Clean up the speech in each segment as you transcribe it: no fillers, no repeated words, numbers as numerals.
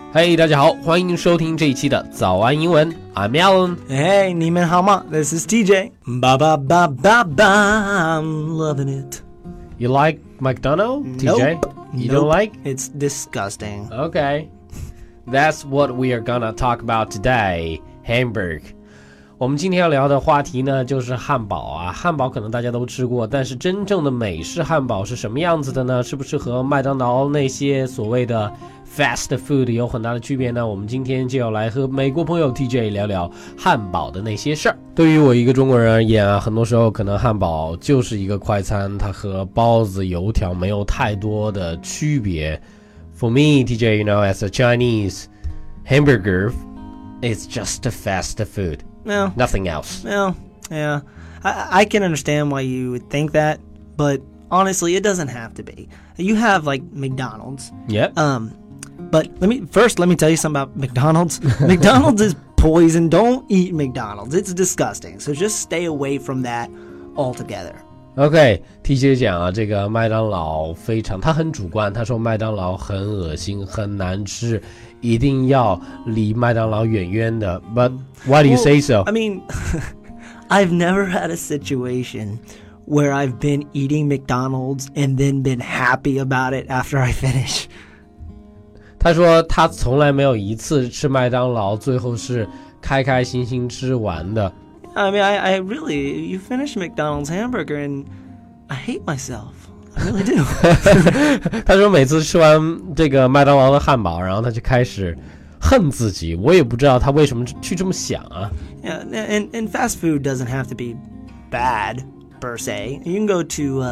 嘿、大家好，欢迎收听这一期的早安英文 I'm Alan. Hey, 你们好吗? This is TJ. Ba ba ba ba ba. I'm loving it. You like McDonald's, TJ? Nope. You Nope. don't like? It's disgusting. Okay. That's what we are gonna talk about today. Hamburg. 我们今天要聊的话题呢，就是汉堡啊。汉堡可能大家都吃过，但是真正的美式汉堡是什么样子的呢？是不是和麦当劳那些所谓的 fast food 有很大的区别呢？我们今天就要来和美国朋友 TJ 聊聊汉堡的那些事儿。对于我一个中国人而言啊，很多时候可能汉堡就是一个快餐，它和包子、油条没有太多的区别。For me, TJ, you know, as a Chinese, hamburger is just a fast food. Well, Nothing else. well, yeah. I can understand why you would think that, but honestly, it doesn't have to be. You have like McDonald's. Yep. But let me tell you something about McDonald's. McDonald's is poison. Don't eat McDonald's. It's disgusting. So just stay away from that altogether. OK, TJ 讲啊，这个麦当劳他很主观，他说麦当劳很恶心，很难吃，一定要离麦当劳远远的。But why do you say so? I mean, I've never had a situation where I've been eating McDonald's and then been happy about it after I finish. 他说他从来没有一次吃麦当劳，最后是开开心心吃完的。 I mean, I really, you finish McDonald's hamburger and I hate myself. I really do. 他说每次吃完这个麦当劳的汉堡，然后他就开始恨自己，我也不知道他为什么去这么想啊。 Yeah, and fast food doesn't have to be bad per se. You can go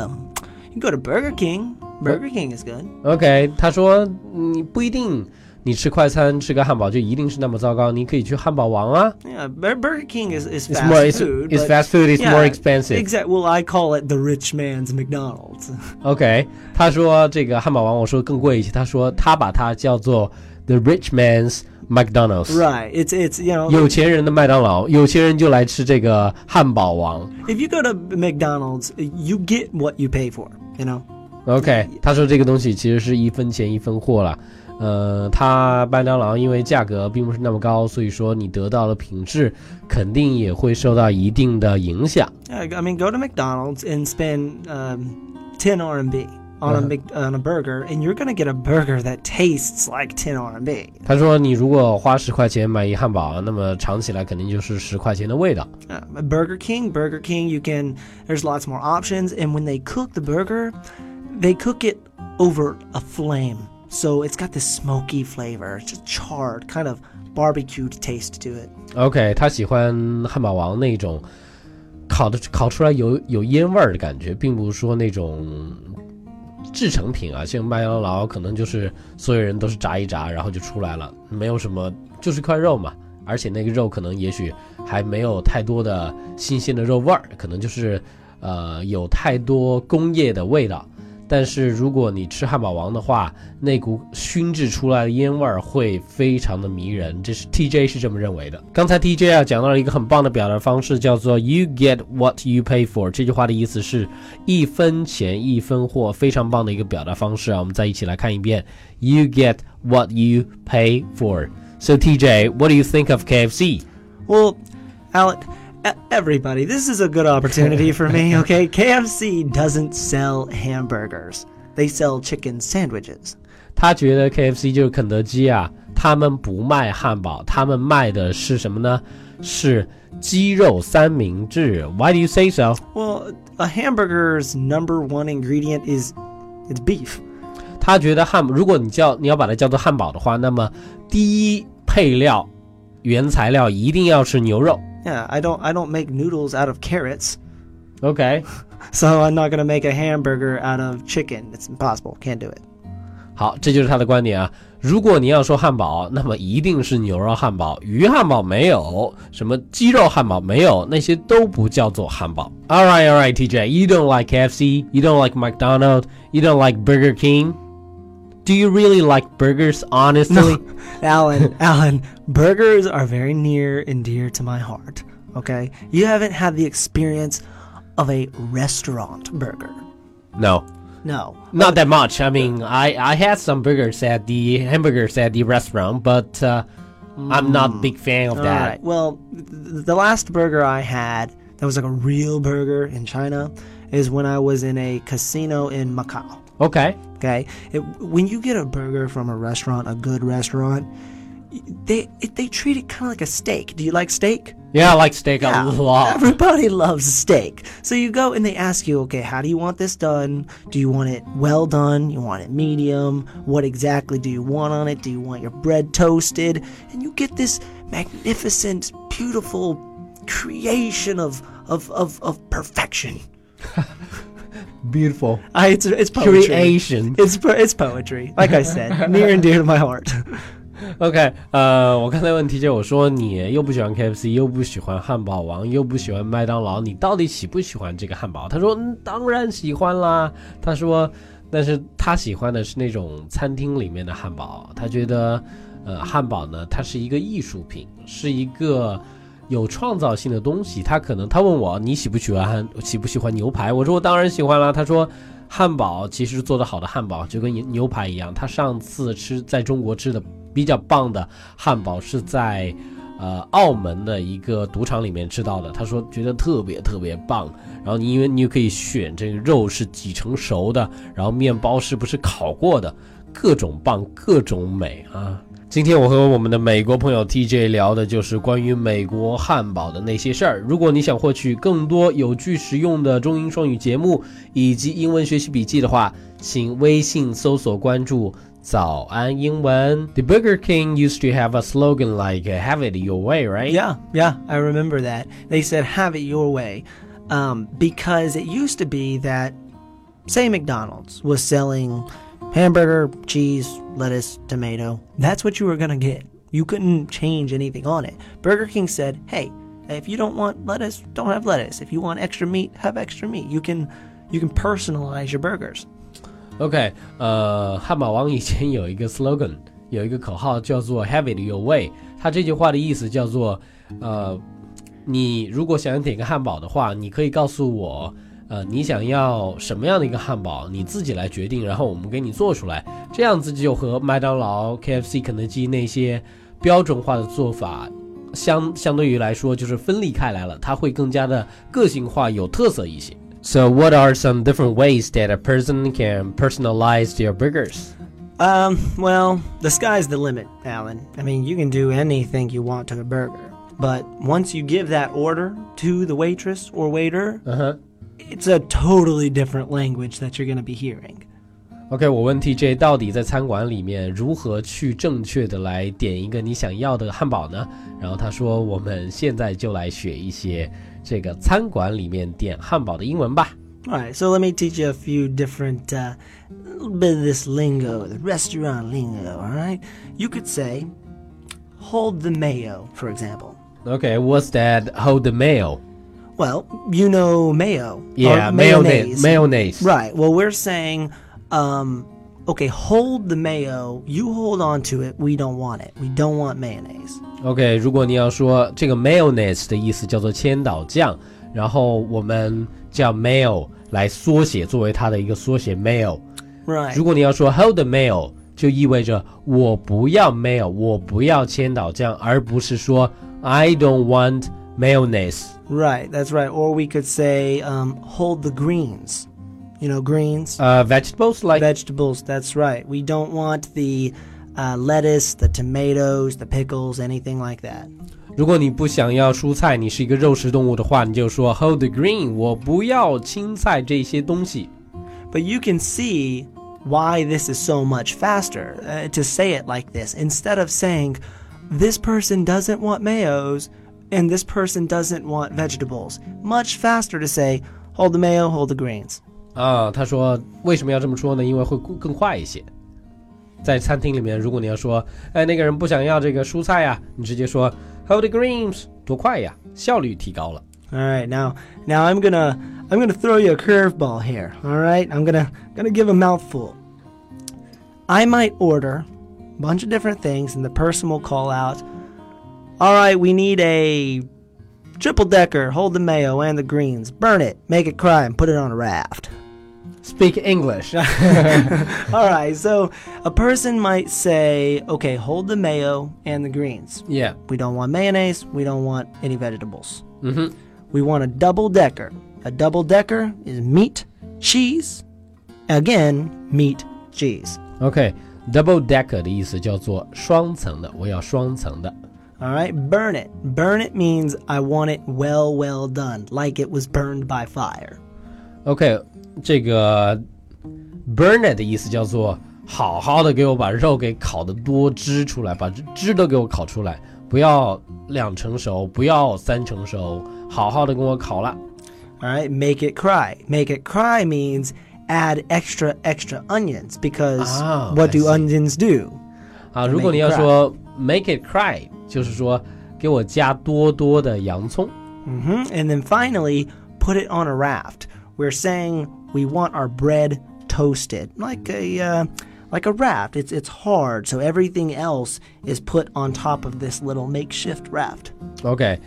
to Burger King. Burger King is good. OK, 他说你不一定你吃快餐吃个汉堡就一定是那么糟糕，你可以去汉堡王啊。 Yeah, Burger King is fast food. It's fast food, it's more expensive. Exactly. Well, I call it the rich man's McDonald's. OK, 他说这个汉堡王我说更贵一些，他说他把它叫做 the rich man's McDonald's. Right. It's you know, 有钱人的麦当劳，有钱人就来吃这个汉堡王。 if you go to McDonald's, you get what you pay for, you know? OK, 他说这个东西其实是一分钱一分货了。他麦当劳因为价格并不是那么高，所以说你得到的品质肯定也会受到一定的影响。 Yeah, I mean, go to McDonald's and spend 10 RMB on a burger, and you're going to get a burger that tastes like 10 RMB. 他说你如果花10块钱买一汉堡，那么尝起来肯定就是10块钱的味道。 Burger King, there's lots more options, and when they cook the burger, they cook it over a flame. So it's got this smoky flavor, just charred, kind of barbecued taste to it. OK, 他喜欢汉堡王那种烤出来有烟味儿的感觉，并不是说那种制成品啊，像麦当劳可能就是所有人都是炸一炸然后就出来了，没有什么，就是一块肉嘛，而且那个肉可能也许还没有太多的新鲜的肉味儿，可能就是有太多工业的味道。但是如果你吃汉堡王的话，那股熏制出来的烟味儿会非常的迷人，这是 TJ 是这么认为的。刚才 TJ 啊讲到了一个很棒的表达方式，叫做 You get what you pay for， 这句话的意思是一分钱一分货，非常棒的一个表达方式啊。我们再一起来看一遍 You get what you pay for. So TJ, what do you think of KFC? Well, Alec, everybody, this is a good opportunity for me, okay? KFC doesn't sell hamburgers. They sell chicken sandwiches. 他觉得 KFC 就是肯德基啊，他们不卖汉堡，他们卖的是什么呢？是鸡肉三明治。Why do you say so? Well, a hamburger's number one ingredient is it's beef. 他觉得如果你要把它叫做汉堡的话，那么第一配料原材料一定要是牛肉。 Yeah, I don't make noodles out of carrots. OK, So I'm not going to make a hamburger out of chicken. It's impossible. Can't do it. 好，这就是他的观点啊。如果你要说汉堡，那么一定是牛肉汉堡，鱼汉堡没有，什么鸡肉汉堡没有，那些都不叫做汉堡。All right, TJ, you don't like KFC, you don't like McDonald's, you don't like Burger King. Do you really like burgers, honestly? No. Alan, burgers are very near and dear to my heart, okay? You haven't had the experience of a restaurant burger. No. No. Not that much. I mean, I had some hamburgers at the restaurant, but I'm not a big fan of All that. right. Well, the last burger I had that was like a real burger in China is when I was in a casino in Macau. Okay. Okay, when you get a burger from a restaurant, a good restaurant, they treat it kind of like a steak. Do you like steak? Yeah, I like steak a lot. Everybody loves steak. So you go and they ask you, okay, how do you want this done? Do you want it well done? You want it medium? What exactly do you want on it? Do you want your bread toasted? And you get this magnificent, beautiful creation of perfection. Beautiful. It's poetry. Creation. It's poetry. Like I said, near and dear to my heart. OK，我刚才问题就我说你又不喜欢 KFC， 又不喜欢汉堡王，又不喜欢麦当劳，你到底喜不喜欢这个汉堡？他说，当然喜欢啦。他说，但是他喜欢的是那种餐厅里面的汉堡。他觉得，汉堡呢，它是一个艺术品，是一个有创造性的东西。他问我你喜不喜欢牛排？我说我当然喜欢啦。他说。汉堡其实做得好的汉堡就跟牛排一样，他上次在中国吃的比较棒的汉堡是在澳门的一个赌场里面吃到的，他说觉得特别特别棒，然后因为你又可以选这个肉是几成熟的，然后面包是不是烤过的，各种棒各种美啊。今天我和我们的美国朋友 TJ 聊的就是关于美国汉堡的那些事儿。如果你想获取更多有趣实用的中英双语节目以及英文学习笔记的话，请微信搜索关注早安英文。 The Burger King used to have a slogan like have it your way, right? Yeah, I remember that. They said have it your way because it used to be that, say McDonald's was selling hamburger, cheese, lettuce, tomato. That's what you were going to get. You couldn't change anything on it. Burger King said, hey, if you don't want lettuce, don't have lettuce. If you want extra meat, have extra meat. You can personalize your burgers. OK, 汉堡王以前有一个 slogan， 有一个口号叫做 have it your way。 它这句话的意思叫做你如果想要点个汉堡的话，你可以告诉我你想要什么样的一个汉堡，你自己来决定，然后我们给你做出来。这样子就和麦当劳 KFC 肯德基那些标准化的做法相对于来说就是分离开来了，它会更加的个性化有特色一些。 So what are some different ways that a person can personalize their burgers? Well, the sky's the limit, Alan. I mean, you can do anything you want to a burger. But once you give that order to the waitress or waiter, it's a totally different language that you're going to be hearing. OK, 我问 TJ 到底在餐馆里面如何去正确的来点一个你想要的汉堡呢？然后他说我们现在就来学一些这个餐馆里面点汉堡的英文吧。 Alright, so let me teach you a few different, little bit of this lingo, the restaurant lingo, alright? You could say, hold the mayo, for example. Okay, what's that, hold the mayo? Well, you know mayo. Yeah, mayonnaise. Right, well we're saying, okay, hold the mayo, you hold on to it, we don't want it. We don't want mayonnaise. Okay, 如果你要说这个 mayonnaise 的意思叫做千岛酱，然后我们叫 mayo 来缩写，作为它的一个缩写 mayo。 Right. 如果你要说 hold the mayo 就意味着我不要 mayo， 我不要千岛酱，而不是说 I don't want mayonnaise. Right, that's right. Or we could say hold the greens. You know greens? Vegetables like Vegetables, that's right. We don't want the lettuce, the tomatoes, the pickles, anything like that. 如果你不想要蔬菜，你是一个肉食动物的话，你就说 hold the green， 我不要青菜这些东西。 But you can see why this is so much faster to say it like this. Instead of saying, this person doesn't want mayos and this person doesn't want vegetables. Much faster to say, hold the mayo, hold the greens. 他说为什么要这么说呢？因为会更快一些。在餐厅里面，如果你要说那个人不想要这个蔬菜呀，你直接说 hold the greens， 多快呀，效率提高了。 All right, now I'm gonna throw you a curveball here. All right, I'm gonna give a mouthful. I might order a bunch of different things, and the person will call out, all right, we need a triple decker, hold the mayo and the greens, burn it, make it cry, and put it on a raft. Speak English. All right, so a person might say, okay, hold the mayo and the greens. Yeah. We don't want mayonnaise. We don't want any vegetables. Mm-hmm. We want a double-decker. A double-decker is meat, cheese, again, meat, cheese. Okay, double decker 的意思叫做双层的，我要双层的。 All right, burn it. Burn it means I want it well done, like it was burned by fire. OK， 这个 burn it 的意思叫做好好的给我把肉给烤得多汁出来，把汁都给我烤出来，不要2成熟，不要3成熟，好好的跟我烤了。 All right, make it cry. Make it cry means add extra onions because what do onions do? 啊，如果你要说 make it cry， 就是说给我加多多的洋葱。 And then finally, put it on a raft. We're saying we want our bread toasted like a raft. It's hard, so everything else is put on top of this little makeshift raft. OK，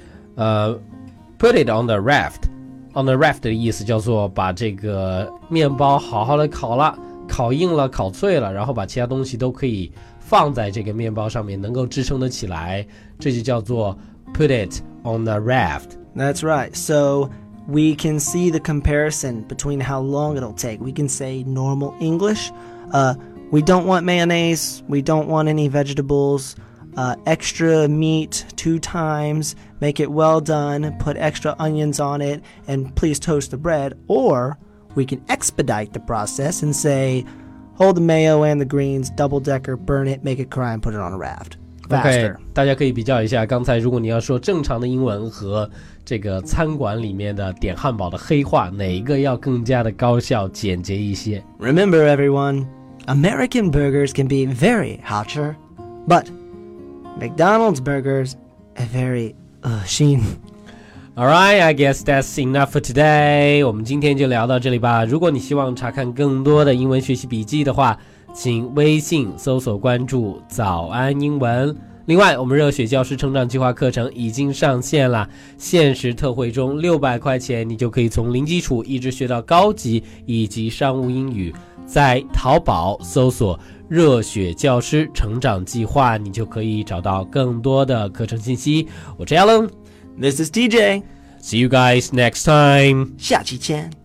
put it on the raft。On the raft 的意思叫做把这个面包好好的烤了，烤硬了，烤脆了，然后把其他东西都可以放在这个面包上面，能够支撑得起来，这就叫做 put it on the raft. That's right. So we can see the comparison between how long it'll take. We can say normal English. We don't want mayonnaise. We don't want any vegetables. Extra meat 2 times. Make it well done. Put extra onions on it. And please toast the bread. Or we can expedite the process and say, hold the mayo and the greens, double-decker, burn it, make it cry, and put it on a raft. Faster. OK， 大家可以比较一下，刚才如果你要说正常的英文和这个餐馆里面的点汉堡的黑话，哪一个要更加的高效简洁一些？ Remember, everyone, American burgers can be very hot, but McDonald's burgers are very 恶心。 Alright, I guess that's enough for today. 我们今天就聊到这里吧。如果你希望查看更多的英文学习笔记的话，请微信搜索关注早安英文。另外，我们热血教师成长计划课程已经上线了，限时特惠中600块钱，你就可以从零基础一直学到高级以及商务英语。在淘宝搜索热血教师成长计划，你就可以找到更多的课程信息。我是 Alan， This is TJ. See you guys next time. 下期见。